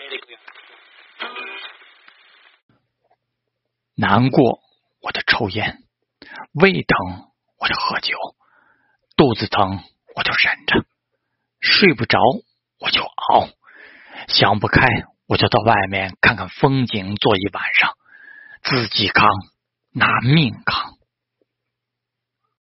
难过我就抽烟，胃疼我就喝酒，肚子疼我就忍着，睡不着我就熬，想不开我就到外面看看风景，坐一晚上，自己扛，拿命扛。